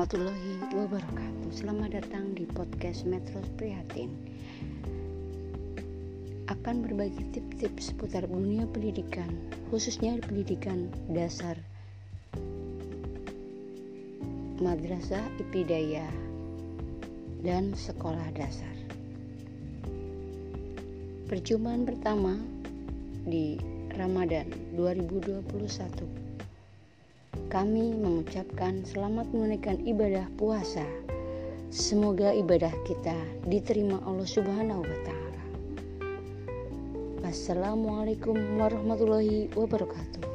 warahmatullahi wabarakatuh. Selamat datang di podcast Metro Prihatin. Akan berbagi tips-tips seputar dunia pendidikan, khususnya pendidikan dasar, madrasah ibtidaiyah, dan sekolah dasar. Perjumpaan pertama di Ramadan 2021. Kami mengucapkan selamat menunaikan ibadah puasa. Semoga ibadah kita diterima Allah Subhanahu wa Ta'ala. Wassalamualaikum warahmatullahi wabarakatuh.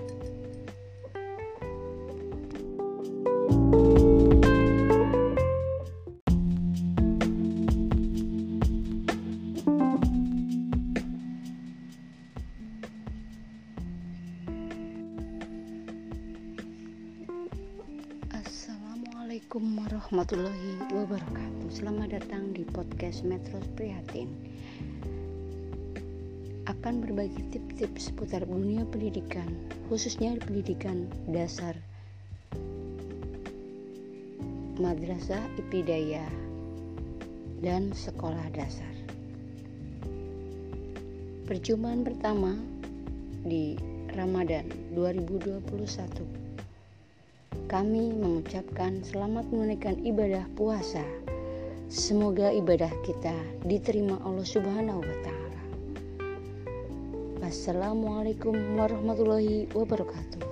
Assalamualaikum warahmatullahi wabarakatuh. Selamat datang di podcast Metro Prihatin. Akan berbagi tips-tips seputar dunia pendidikan, khususnya pendidikan dasar, madrasah ibtidaiyah, dan sekolah dasar. Perjumpaan pertama di Ramadan 2021. Kami mengucapkan selamat menunaikan ibadah puasa. Semoga ibadah kita diterima Allah Subhanahu wa Ta'ala. Wassalamualaikum warahmatullahi wabarakatuh.